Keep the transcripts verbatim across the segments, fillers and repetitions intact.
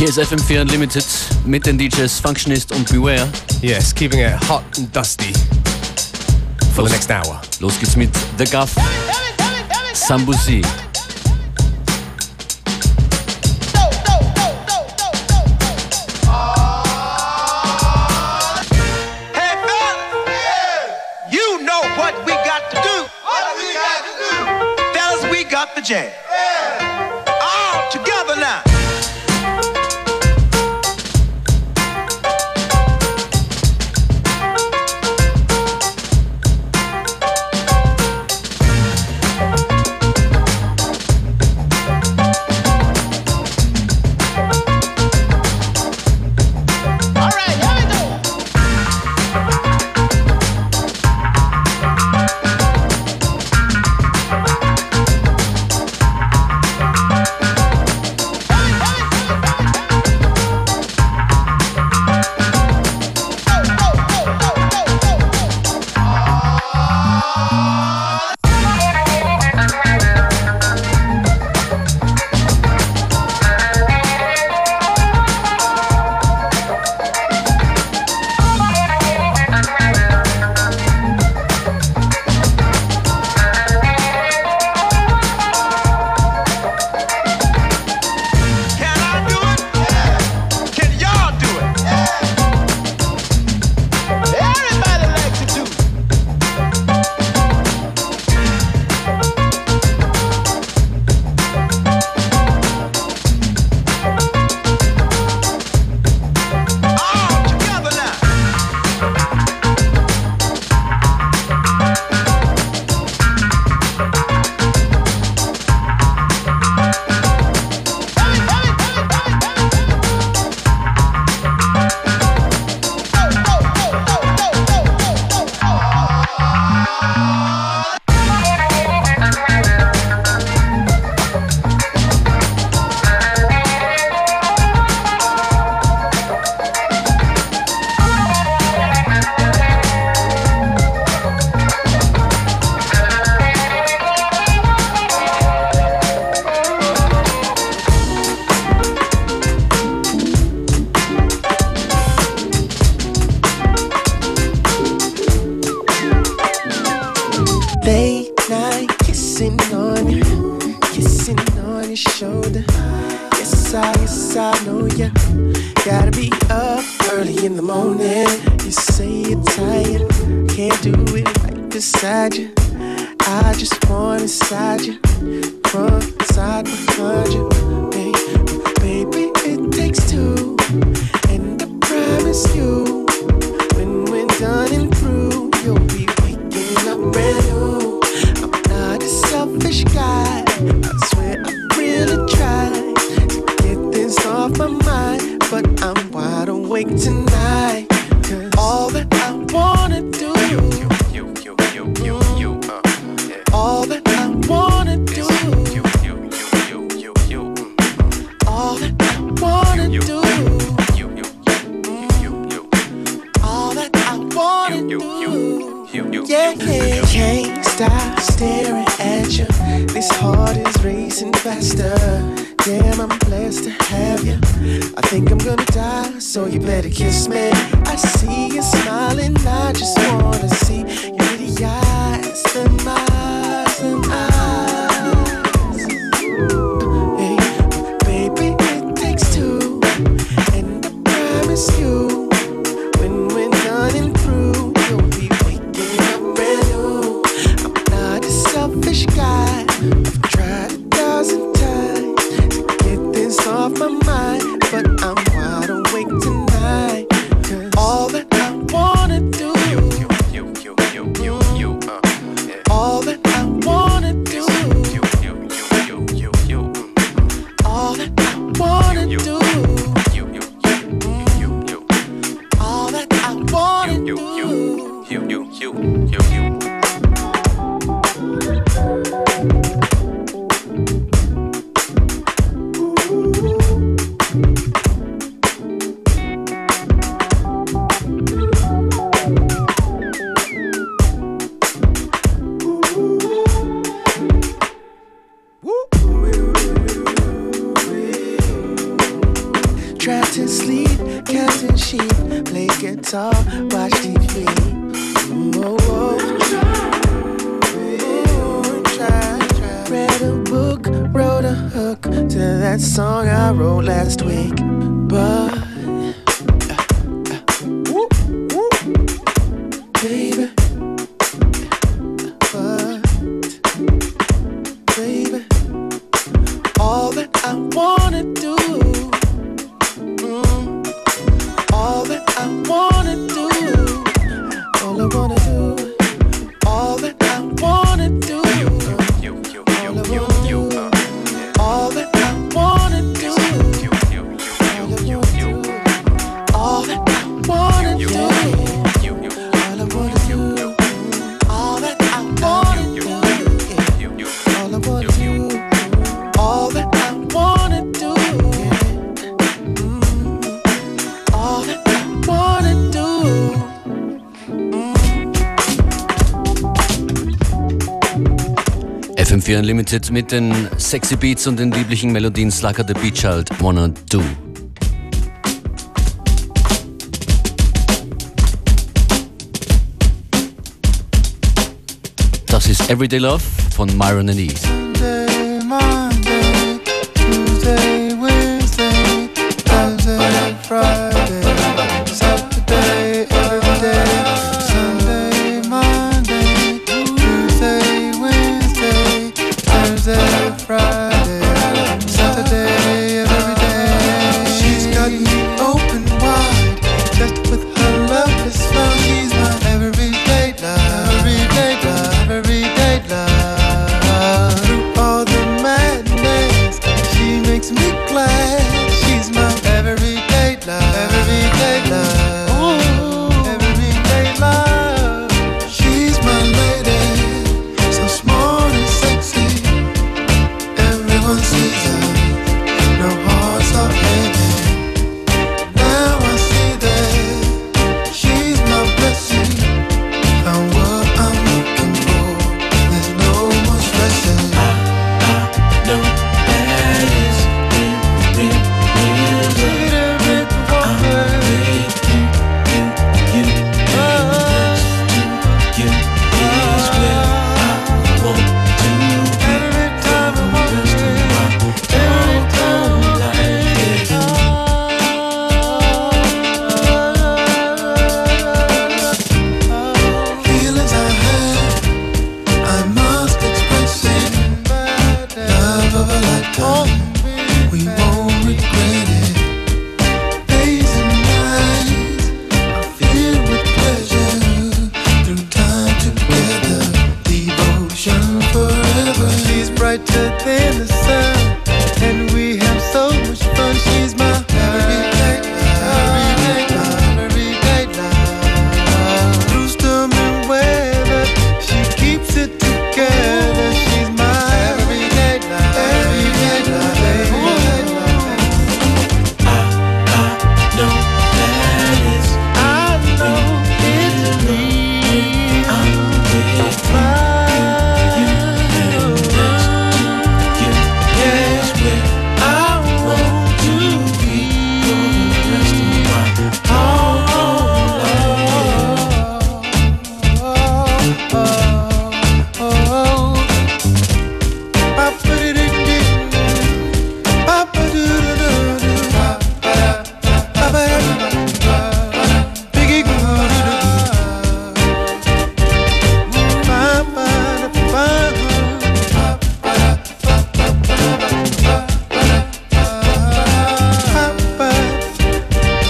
Hier ist F M vier Unlimited mit den D Js Functionist und Beware. Yes, keeping it hot and dusty for Los, the next hour. Los geht's mit The Guff, Sambuzi. The jam. Yeah. All together now. saw, watch T V. Whoa, whoa. Ooh, try, try. Read a book, wrote a hook to that song I wrote last week. But uh, uh, woo, woo. Baby, but baby, all that I wanna do, mm, all that I wanna do, all I wanna do, all that I wanna do, all I wanna do, all that I wanna do, all that I wanna do, all I wanna do, all that I wanna do, all I wanna do, all that I wanna do, all that I wanna do. F M vier Unlimited mit den sexy Beats und den lieblichen Melodien. Slugger the Beat Child, Wanna Do. Das ist Everyday Love von Myron and Eve. Monday, Monday, Tuesday, Wednesday, Thursday, Friday, Saturday, every day. Sunday, Monday, Tuesday, Wednesday, Thursday, Friday, Saturday, every day. She's got me open wide, just with her love is smile. She's my everyday love, everyday love, everyday love. Through all the madness, she makes me glad. She's my everyday love, everyday love, ooh, everyday love. She's my lady, so smart and sexy. Everyone sees her, no hearts are heavy. Now I see that she's my blessing. Found what I'm looking for. There's no more stressing. No, that is real, real, real love. Look at her with the water. You, you, you, you, you is where I want to be. Every time I walk Rest of in, my every time I walk life, feelings I have, I must express it. Love of a lifetime, we won't regret it. Days and nights are filled with pleasure. Through time together, devotion forever. She's brighter than the sun, and we have so much fun. She's my everyday love, everyday love, everyday love. Through storm and weather, she keeps it together. She's my everyday love, everyday love, everyday love. no, that is I know it's real. I'm with you, you is where I want to be for the rest of my whole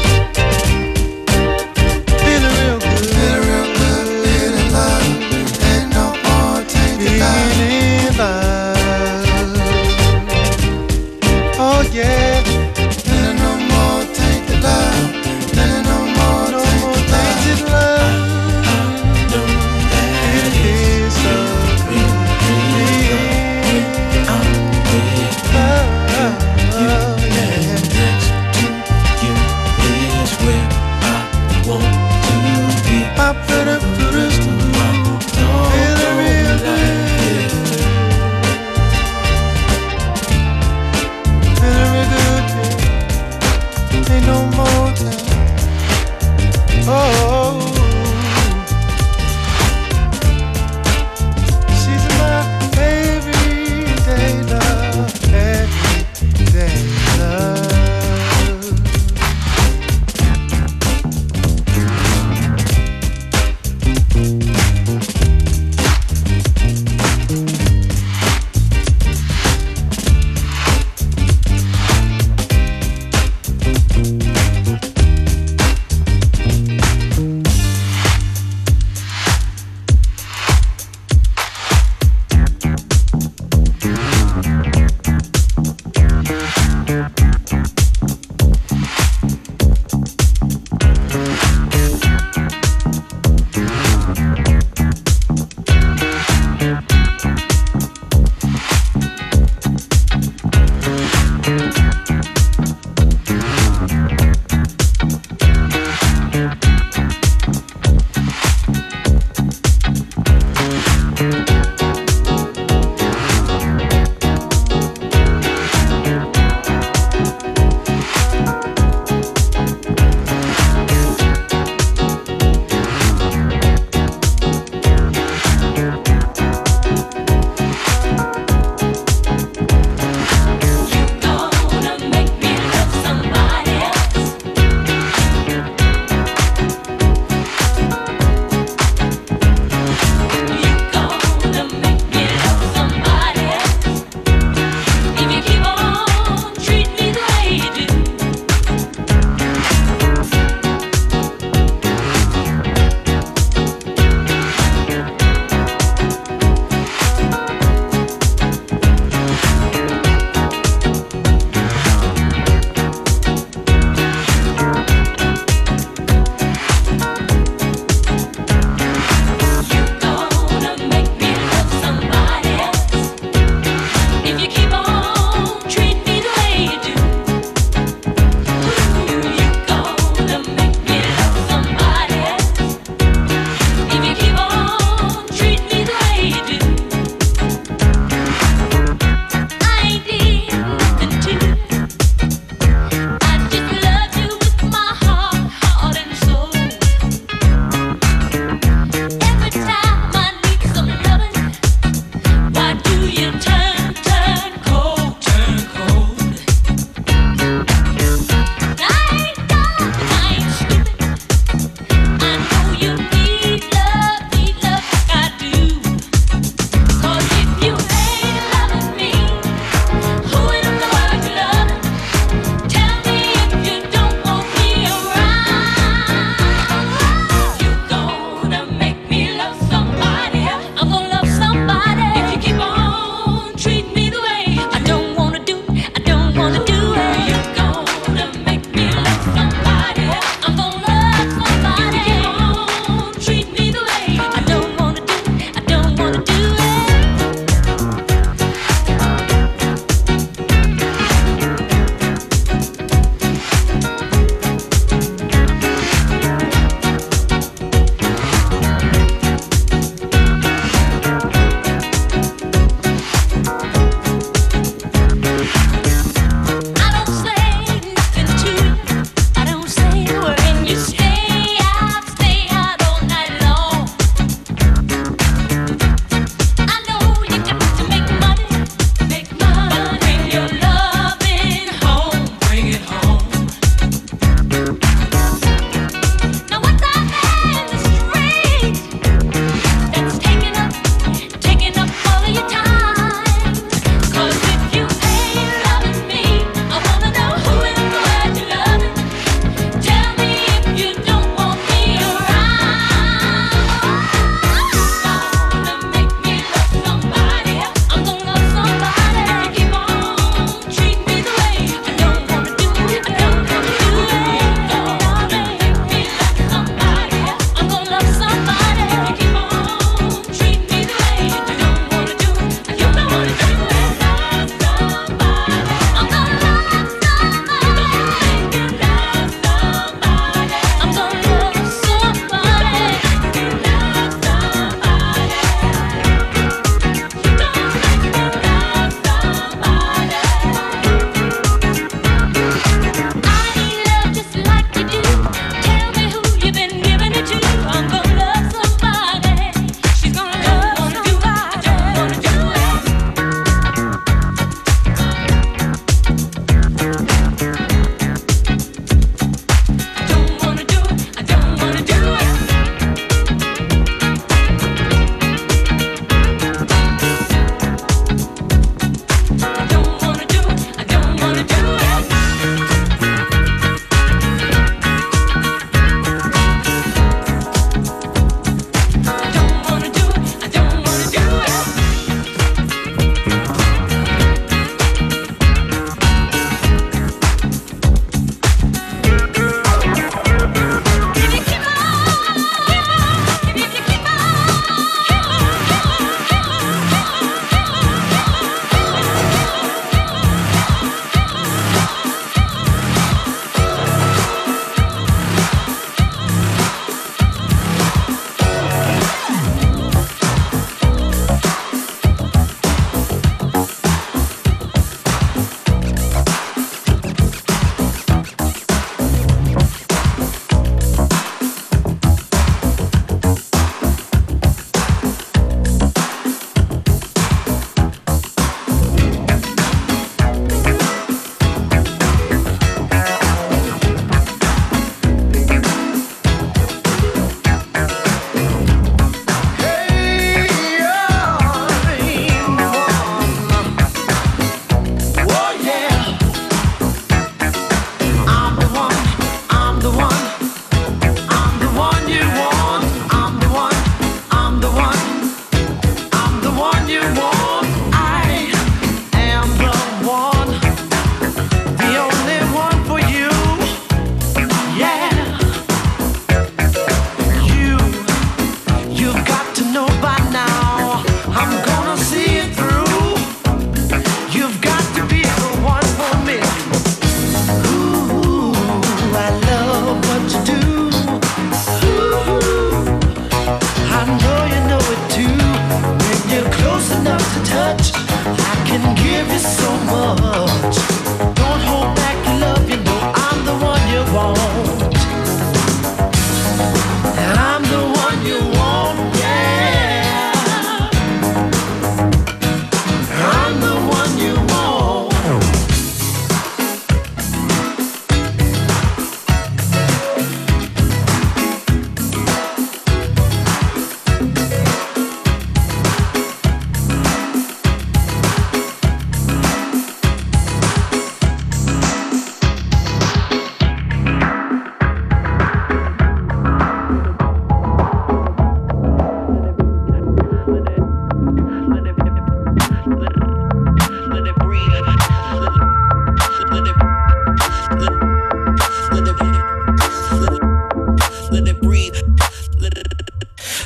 Feeling real good, feeling real good, feeling love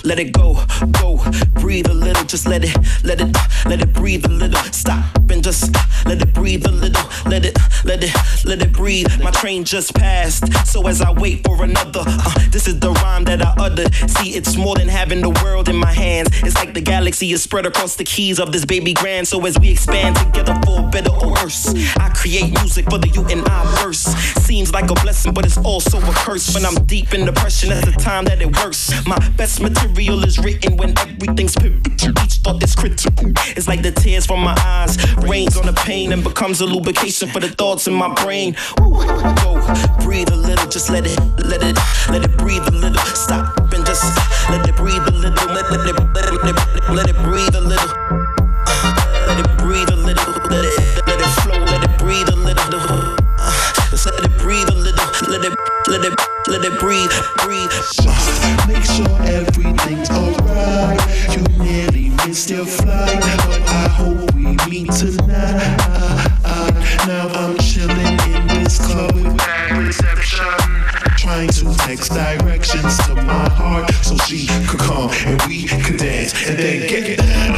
let it go, go. Breathe a little, just let it, let it, let it breathe a little. Stop and just let it breathe a little. Let it, let it, let it breathe. My train just passed, so as I wait for another, uh, this is the rhyme that I uttered. See, it's more than having the world in my hands. It's like the galaxy is spread across the keys of this baby grand. So as we expand together for better or worse, I create music for the you and I verse. Seems like a blessing, but it's also a curse. When I'm deep in depression, that's the time that it works. My best material is written when everything's pivotal. Each thought is critical. It's like the tears from my eyes rains on the pain and becomes a lubrication for the thoughts in my brain. Ooh, go, breathe a little, just let it, let it, let it breathe a little. Stop and just let it breathe a little. Let, let, let, let, it, let, it, let it breathe a little. Let it breathe a little. Let it, let it flow. Let it breathe a little. Just let it breathe a little. Let it, let it, let it breathe, breathe. Just make sure everything's alright. You nearly missed your flight, but I hope we meet tonight. Now I'm chilling in this club with bad reception, trying to text directions to my heart so she could come and we could dance and then get it down.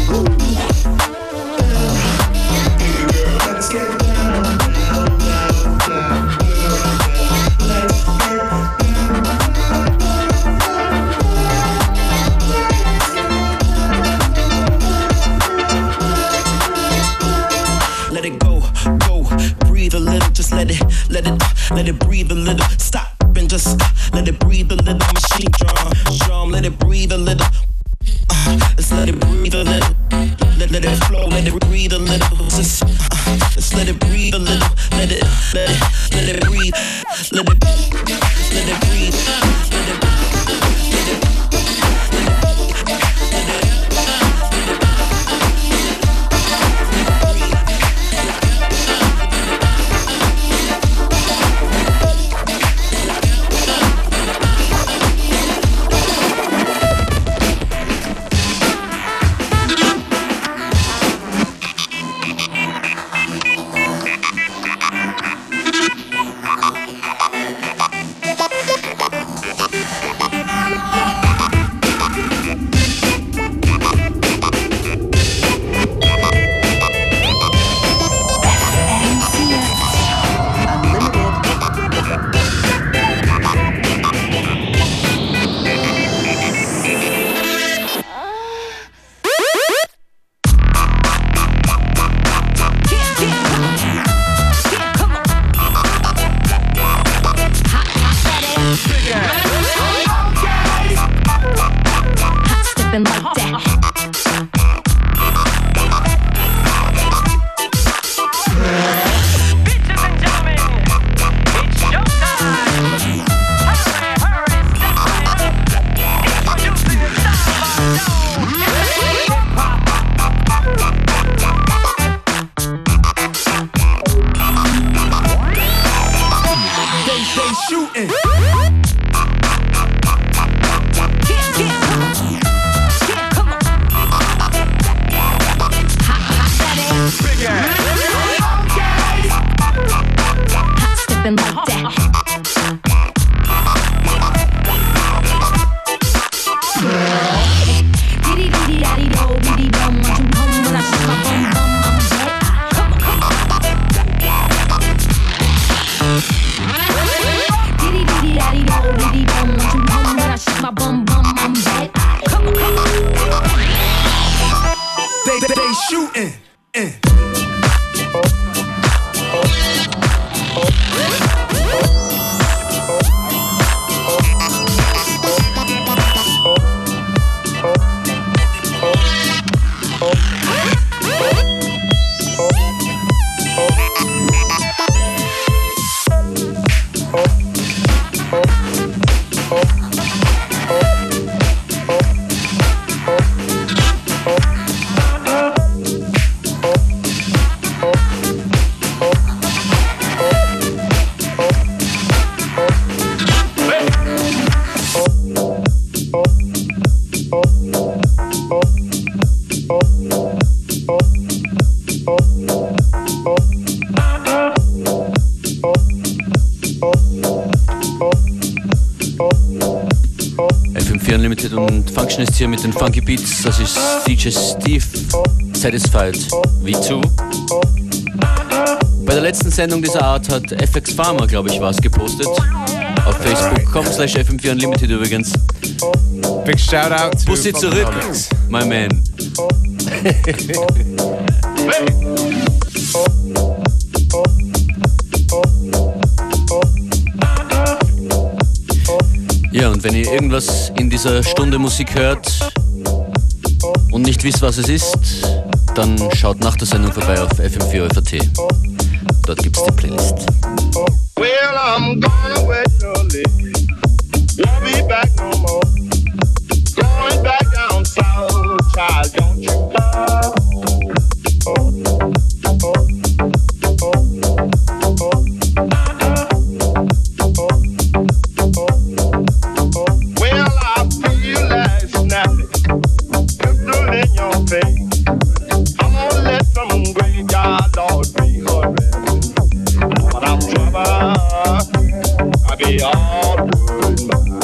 Hey girl, let's get down. Let it go, go, breathe a little, just let it, let it, let it breathe a little. Stop and just let it breathe a little. Machine drum, drum, let it breathe a little. Uh, let's let it breathe a little. Let, let it flow, let it breathe a little. Just, uh, let's let it breathe a little. Let it, let it, let it breathe. Let it, let it breathe. Let it, let it. Unlimited und Functionist hier mit den Funky Beats. Das ist D J Steve, Satisfied V zwei. Bei der letzten Sendung dieser Art hat F X Farmer, glaube ich, was gepostet. Auf facebook punkt com slash F M vier Unlimited übrigens. Big shout out to Bussi zurück, my man. Ja, und wenn ihr irgendwas in dieser Stunde Musik hört und nicht wisst, was es ist, dann schaut nach der Sendung vorbei auf F M vier Ö V T. Dort gibt's die Playlist. Well, I'm gonna wait your leave. Won't be back no more. Going back down south, child, don't you come. Well, I feel like snapping, pistol in your face. I'm gonna let some graveyard Lord be hurry. But I'm trouble, I be all good mine.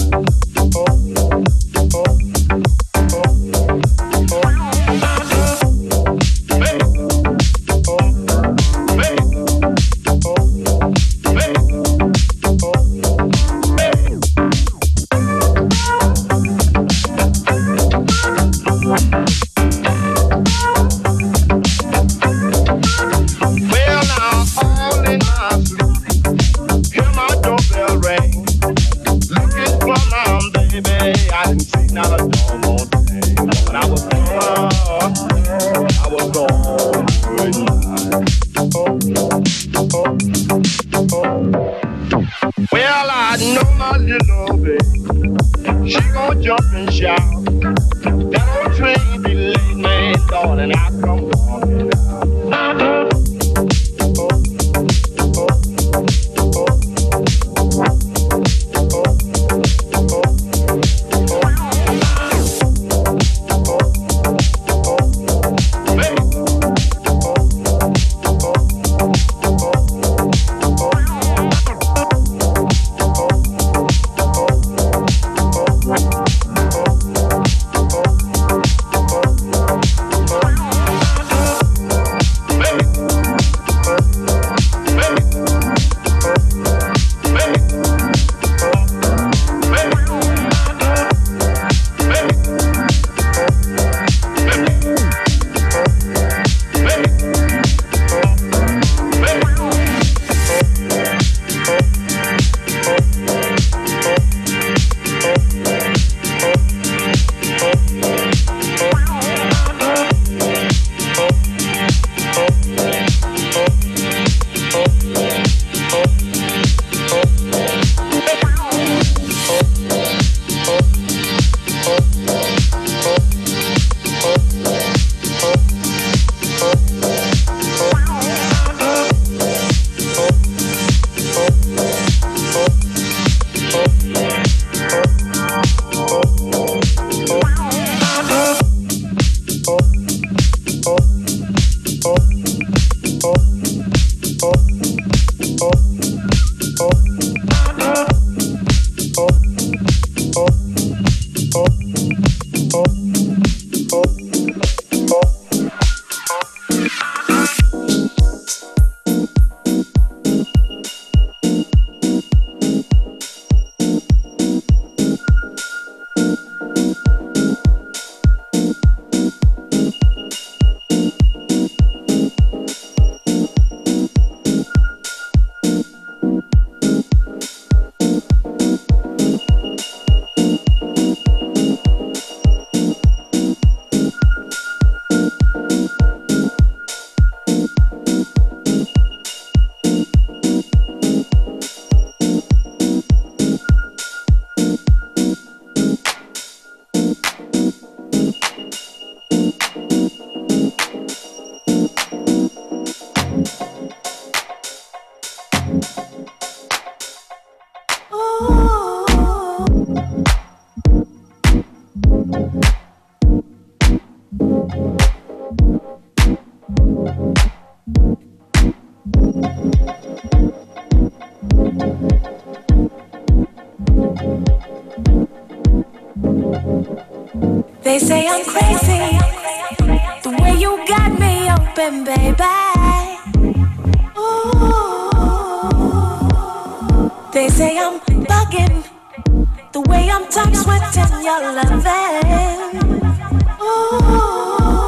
I'm crazy, the way you got me open, baby. Ooh. They say I'm bugging, the way I'm top sweating your loving. Ooh.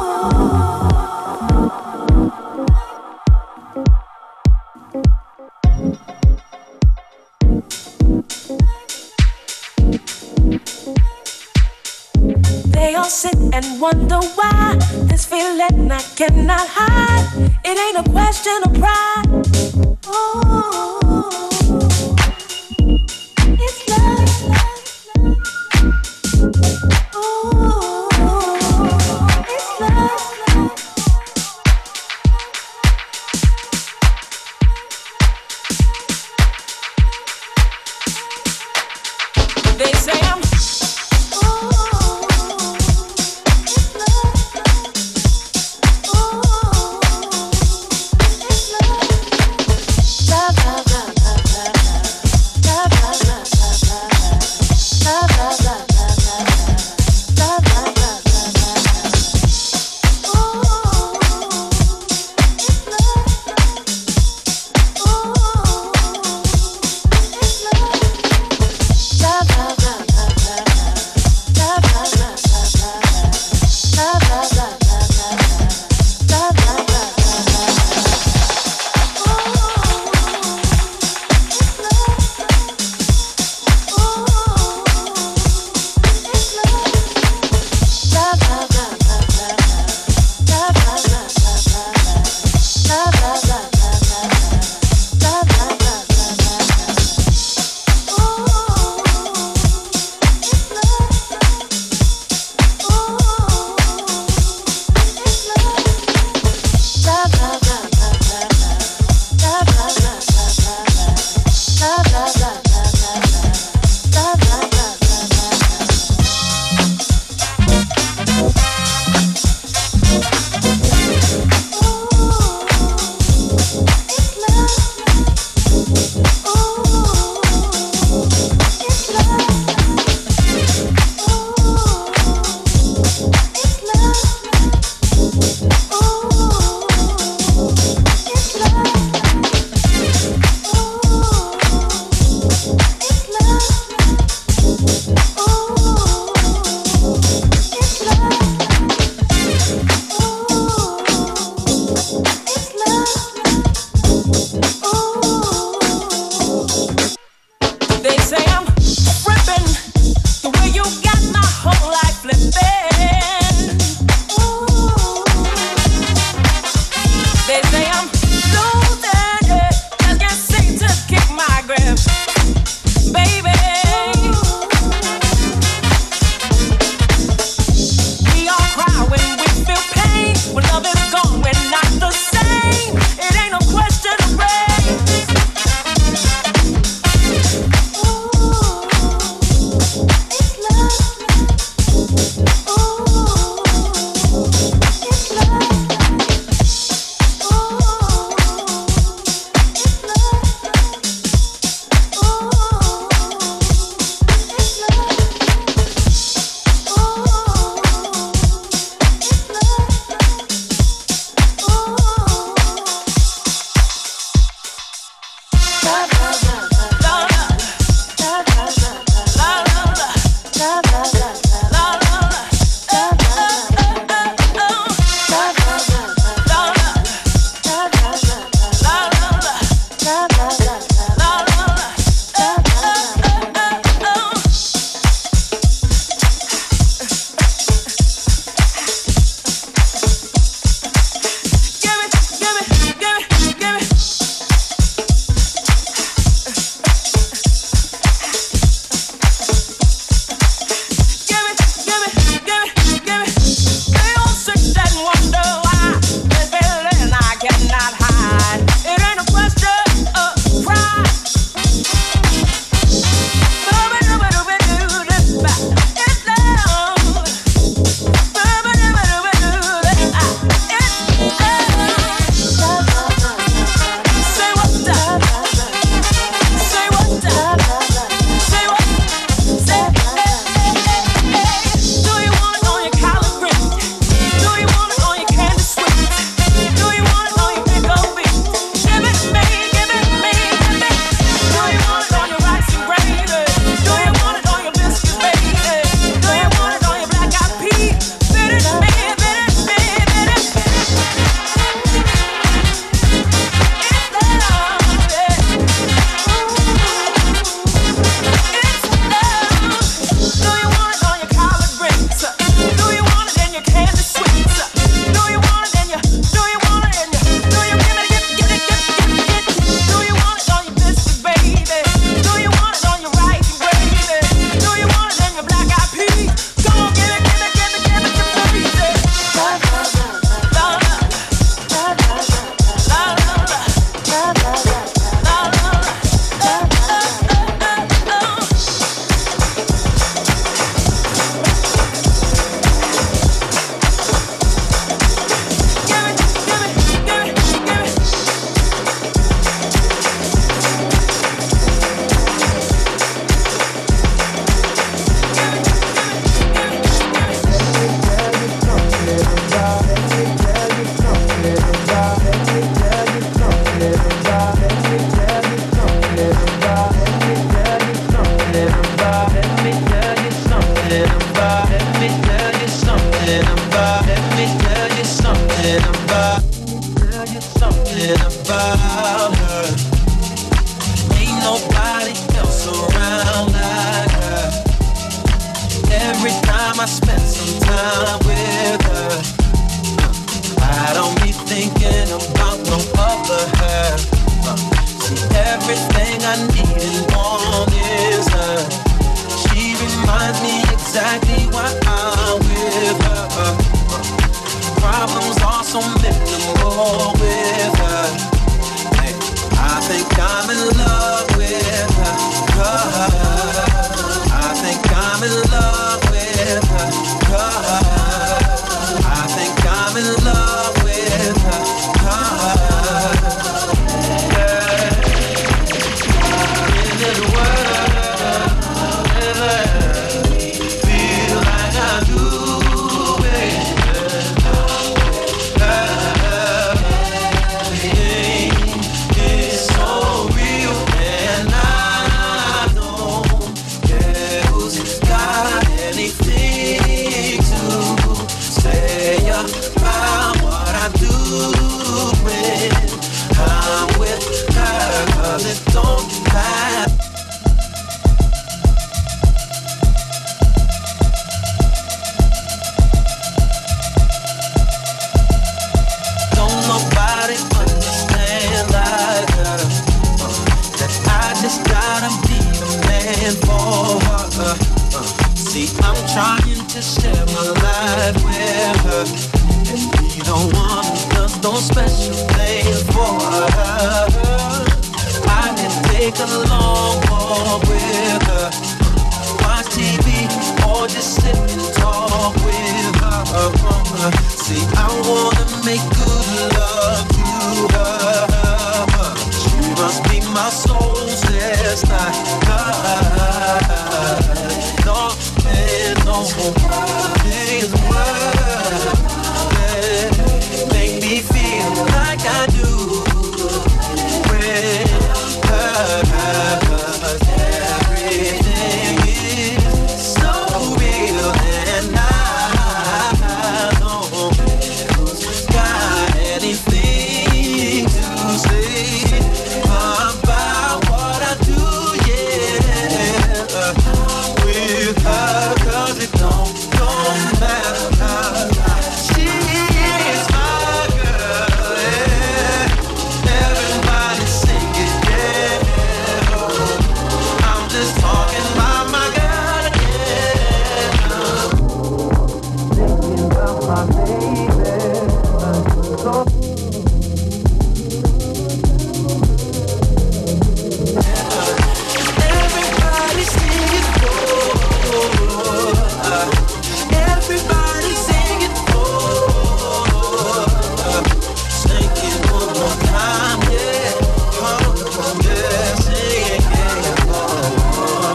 They all sit and wonder why this feeling I cannot hide. It ain't a question of pride. Ooh. It's love. Ooh. It's love. They say I'm love, love. Let me tell you something about, tell you something about her. Ain't nobody else around like her. Every time I spend some time with her, I don't be thinking about no other her. See, everything I need and want is her. She reminds me exactly why I'm with her. Problems are so minimal with her. Hey, I think I'm in love with her. I think I'm in love with her. I think I'm in love with her. Yeah. In this world, feel like I do, baby. It's so real, and I don't care who's got anything to say about what I do when I'm with her, 'cause it don't matter. Don't nobody understand like her, that I just gotta be the man for her. Uh, See, I'm trying to share my life with her, and be the one who does those special things for her. I can take a long walk with her, watch T V, or just sit and talk with her. See, I wanna make good love to her. She must be my soul's sister. No, and no things worth that make me feel like I do with her. 'Cause everything is so real, and I don't got anything to say about what I do, yeah, with her, 'cause it don't, don't matter. She is my girl, yeah. Everybody sing it, yeah. I'm just talking about my girl, yeah. Thinking about my baby. Everybody sing it for, everybody sing it for, sing it one more time, yeah, oh, yeah, sing it, yeah, oh,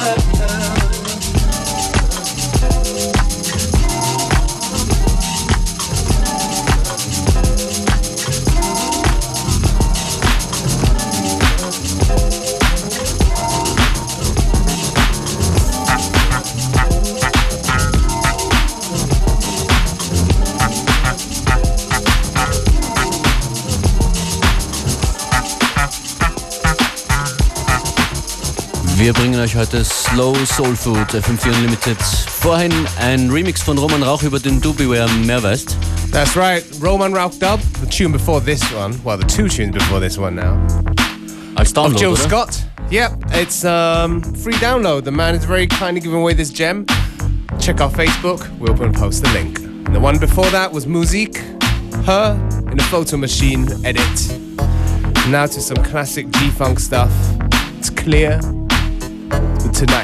Wir bringen euch heute Slow Soul Food, F M vier Unlimited. Vorhin ein Remix von Roman Rauch, über den du Beware mehr weißt. That's right, Roman Rauch dub, the tune before this one, well, the two tunes before this one now. Als Download, Of Jill oder? Scott. Yep, it's um, free download. The man is very kindly giving away this gem. Check our Facebook, we'll put and post the link. And the one before that was Musique, Her in a Photo Machine edit. Now to some classic G-Funk stuff. It's Clear with Tonight.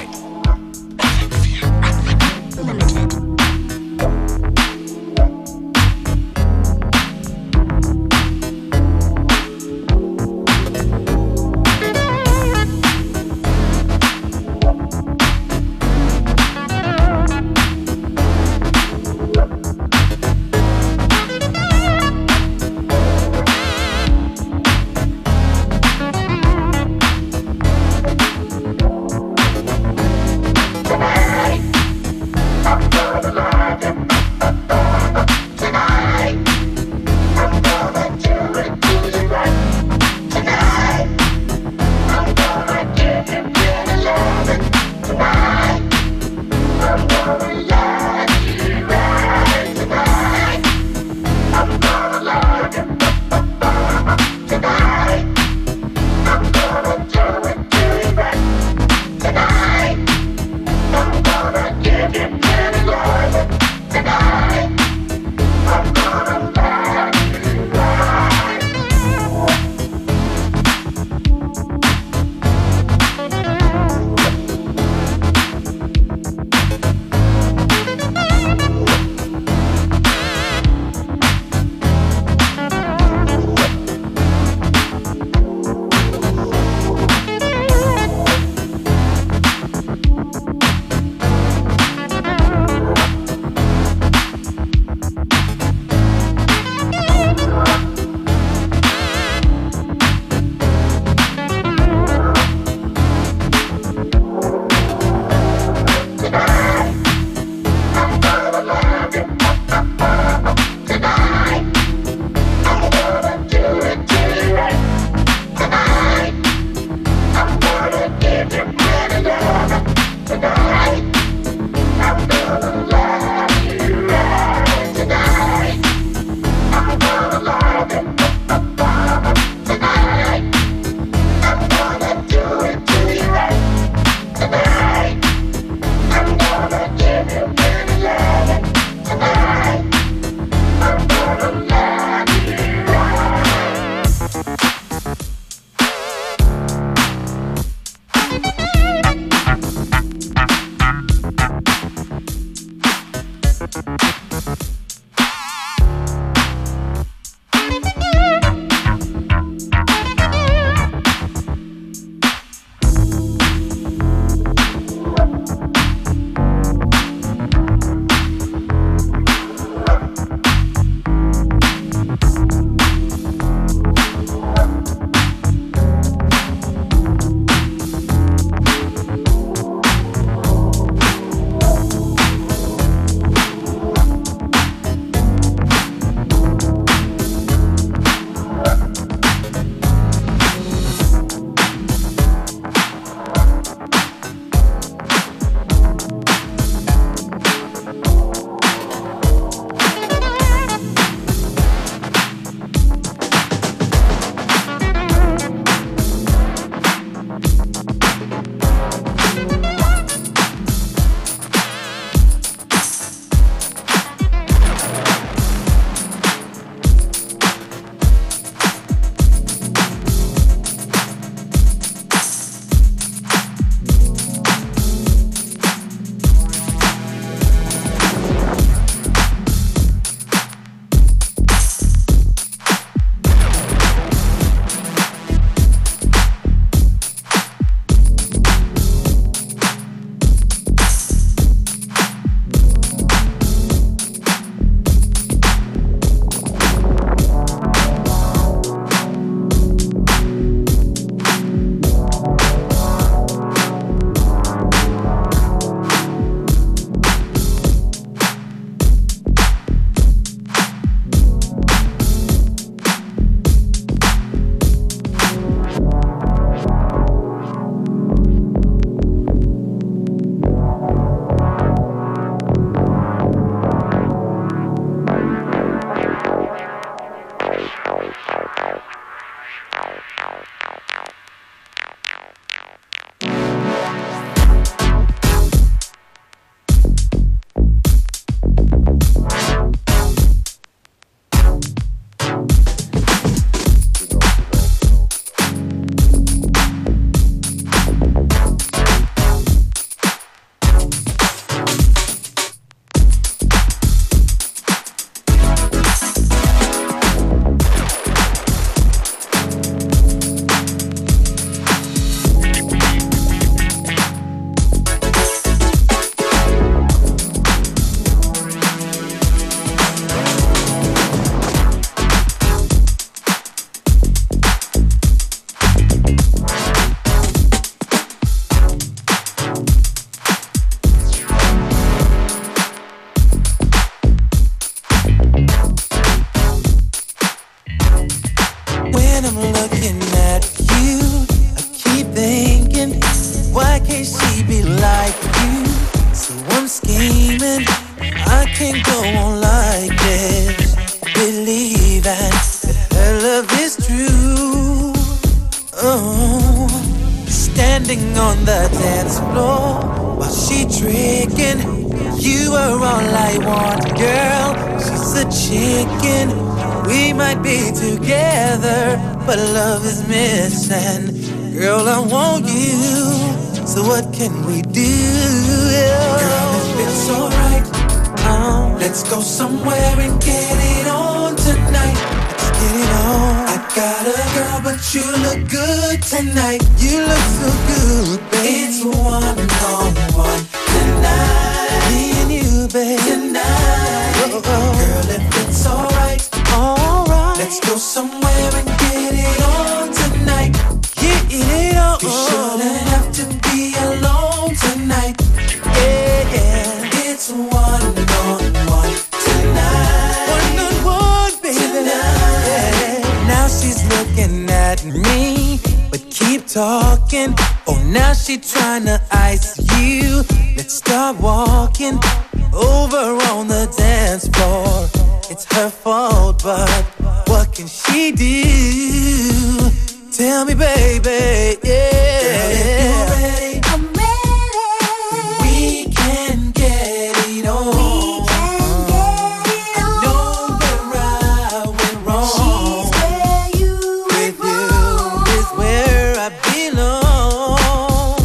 standing on the dance floor while she tricking. You were all I want, girl. She's a chicken. We might be together, but love is missing. Girl, I want you. So what can we do? Girl, it feels alright. Oh, let's go somewhere and get it on tonight. Let's get it on. I got a girl, but you look good tonight. You look so good, babe. It's one on one tonight. Me and you, babe. Tonight. Oh, oh. Girl, if it's alright, alright. Let's go somewhere and get it on tonight. Get it on. You shouldn't have to be alone tonight. Yeah, yeah. It's one on one tonight. One on one, baby. Tonight. Yeah. Now she's looking at me, but keep talking. Oh, now she tryna ice you. Let's start walking over on the dance floor. It's her fault, but what can she do? Tell me, baby, yeah. Girl, if you're ready, I'm ready. We can get it on. We can get it on. I know where I went wrong. She's where you went wrong. With you is where I belong.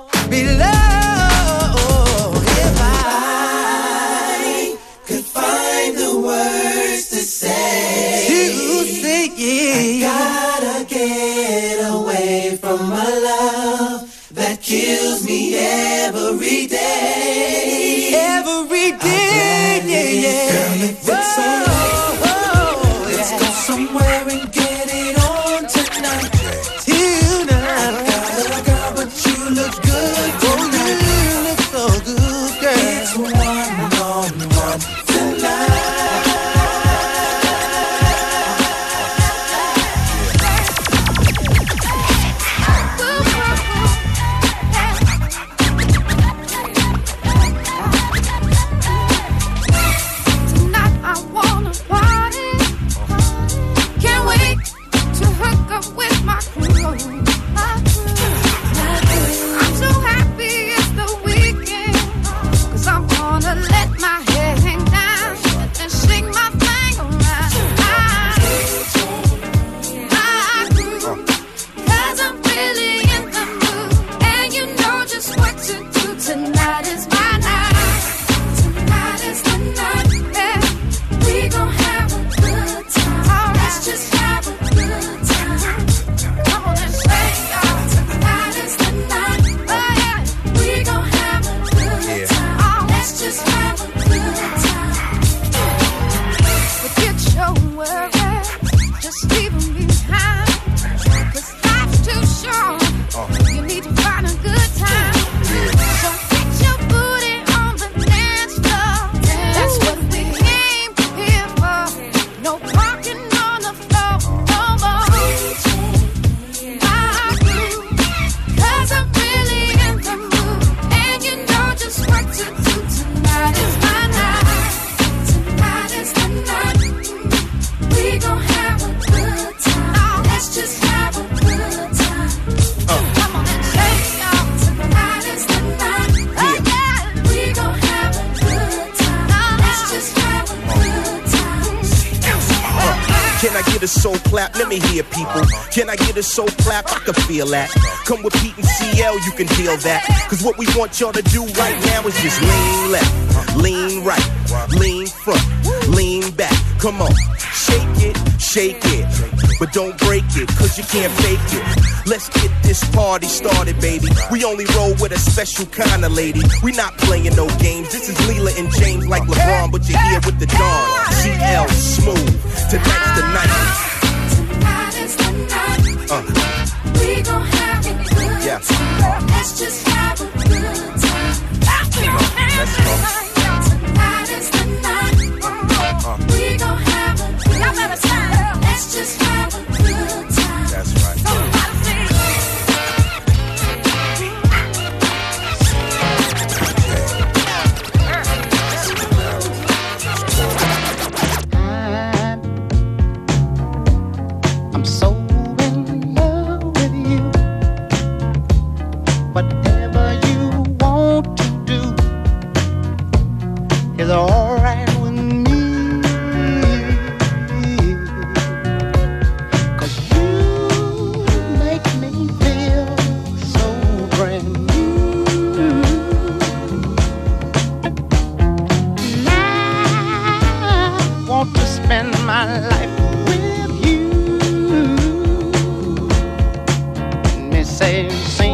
Belong. If I could find the words to say, to say it, I gotta get away from my love that kills me every day. Every day, yeah, yeah. Girl, if it's alright, let's go somewhere and get it on tonight. Tonight. I got a girl, but you look good tonight. Oh, you look so good, girl. It's one on one tonight. Soul clap, let me hear people. Can I get a soul clap? I can feel that. Come with Pete and C L, you can deal that. Cause what we want y'all to do right now is just lean left, lean right, lean front, lean back. Come on, shake it, shake it, but don't break it, cause you can't fake it. Let's get this party started, baby. We only roll with a special kind of lady. We not playing no games. This is Leela and James like LeBron, but you're here with the Dawn. C L smooth. Tonight's the night. Tonight is the night. Uh. We gon' have a good yeah. time. Let's just have a good time. Let's go. Tonight is the night. Uh. We gon' have a good time. Let's just have a good time. That's right. spend my life with you. Let me say, sing.